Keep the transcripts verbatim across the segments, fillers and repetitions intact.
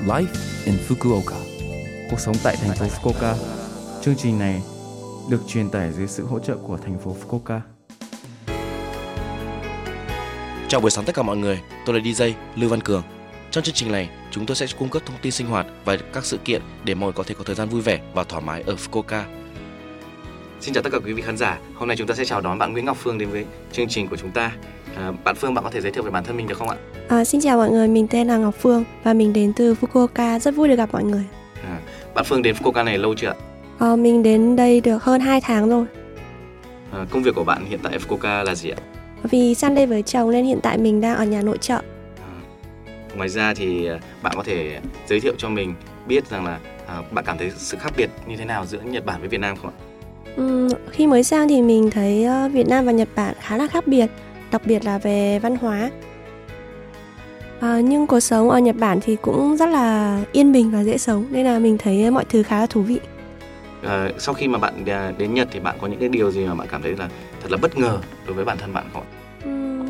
Life in Fukuoka. Cuộc sống tại thành phố Fukuoka. Chương trình này được truyền tải dưới sự hỗ trợ của thành phố Fukuoka. Chào buổi sáng tất cả mọi người, tôi là đi jay Lưu Văn Cường. Trong chương trình này, chúng tôi sẽ cung cấp thông tin sinh hoạt và các sự kiện để mọi người có thể có thời gian vui vẻ và thoải mái ở Fukuoka. Xin chào tất cả quý vị khán giả. Hôm nay chúng ta sẽ chào đón bạn Nguyễn Ngọc Phương đến với chương trình của chúng ta. À, bạn Phương, bạn có thể giới thiệu về bản thân mình được không ạ? À, xin chào mọi người, mình tên là Ngọc Phương và mình đến từ Fukuoka, rất vui được gặp mọi người. À, bạn Phương đến Fukuoka này lâu chưa ạ? À, mình đến đây được hơn hai tháng rồi. À, công việc của bạn hiện tại ở Fukuoka là gì ạ? Vì sang đây với chồng nên hiện tại mình đang ở nhà nội trợ. À, ngoài ra thì bạn có thể giới thiệu cho mình biết rằng là à, bạn cảm thấy sự khác biệt như thế nào giữa Nhật Bản với Việt Nam không ạ? Uhm, khi mới sang thì mình thấy uh, Việt Nam và Nhật Bản khá là khác biệt, đặc biệt là về văn hóa. À, nhưng cuộc sống ở Nhật Bản thì cũng rất là yên bình và dễ sống, nên là mình thấy mọi thứ khá là thú vị. À, sau khi mà bạn đến Nhật thì bạn có những cái điều gì mà bạn cảm thấy là thật là bất ngờ đối với bản thân bạn không ạ? Uhm,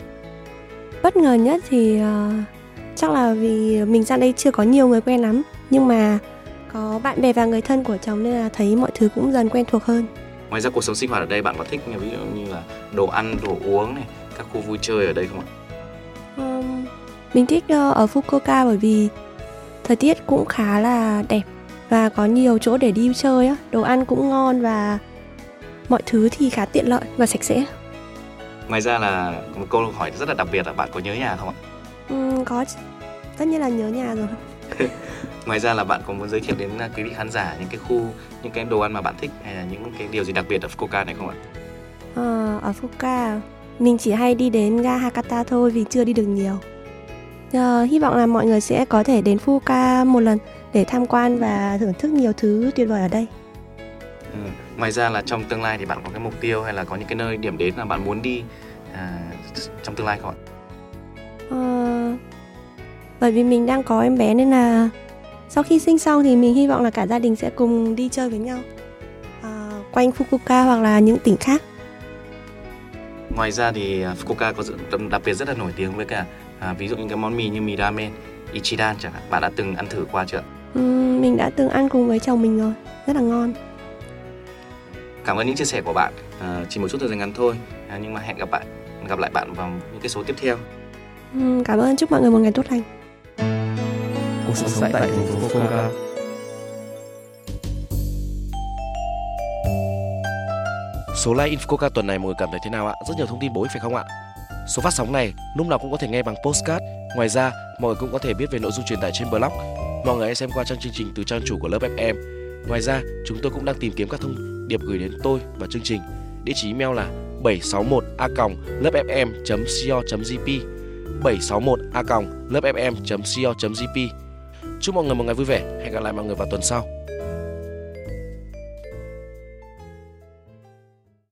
bất ngờ nhất thì uh, chắc là vì mình sang đây chưa có nhiều người quen lắm, nhưng mà có bạn bè và người thân của chồng nên là thấy mọi thứ cũng dần quen thuộc hơn. Ngoài ra cuộc sống sinh hoạt ở đây bạn có thích ví dụ như là đồ ăn, đồ uống này, các khu vui chơi ở đây không ạ? Um, mình thích uh, ở Fukuoka bởi vì thời tiết cũng khá là đẹp và có nhiều chỗ để đi chơi á, đồ ăn cũng ngon và mọi thứ thì khá tiện lợi và sạch sẽ. Ngoài ra là một câu hỏi rất là đặc biệt là bạn có nhớ nhà không ạ? Um, có, tất nhiên là nhớ nhà rồi. Ngoài ra là bạn có muốn giới thiệu đến quý vị khán giả những cái khu, những cái đồ ăn mà bạn thích hay là những cái điều gì đặc biệt ở Fukuoka này không ạ? À, ở Fukuoka mình chỉ hay đi đến ga Hakata thôi vì chưa đi được nhiều. À, hy vọng là mọi người sẽ có thể đến Fukuoka một lần để tham quan và thưởng thức nhiều thứ tuyệt vời ở đây. Ừ. Ngoài ra là trong tương lai thì bạn có cái mục tiêu hay là có những cái nơi điểm đến mà bạn muốn đi à, trong tương lai không ạ? À, bởi vì mình đang có em bé nên là sau khi sinh xong thì mình hy vọng là cả gia đình sẽ cùng đi chơi với nhau à, quanh Fukuoka hoặc là những tỉnh khác. Ngoài ra thì Fukuoka có sự đặc biệt rất là nổi tiếng với cả à, ví dụ những cái món mì như mì ramen, Ichiran chẳng hạn. Bạn đã từng ăn thử qua chưa? Ừ, mình đã từng ăn cùng với chồng mình rồi, rất là ngon. Cảm ơn những chia sẻ của bạn. À, chỉ một chút thời gian ngắn thôi, à, nhưng mà hẹn gặp bạn, gặp lại bạn vào những cái số tiếp theo. Ừ, cảm ơn, chúc mọi người một ngày tốt lành. Cuộc sống tại thành phố Fukuoka. Số Live in Fukuoka tuần này mọi người cảm thấy thế nào ạ? Rất nhiều thông tin bổ ích phải không ạ? Số phát sóng này lúc nào cũng có thể nghe bằng podcast. Ngoài ra, mọi người cũng có thể biết về nội dung truyền tải trên blog. Mọi người hãy xem qua trang chương trình từ trang chủ của lớp ép em. Ngoài ra, chúng tôi cũng đang tìm kiếm các thông điệp gửi đến tôi và chương trình. Địa chỉ email là bảy sáu một a còng lớp ép em chấm co chấm jp bảy sáu một a còng lớp ép em chấm co chấm jp. Chúc mọi người một ngày vui vẻ. Hẹn gặp lại mọi người vào tuần sau.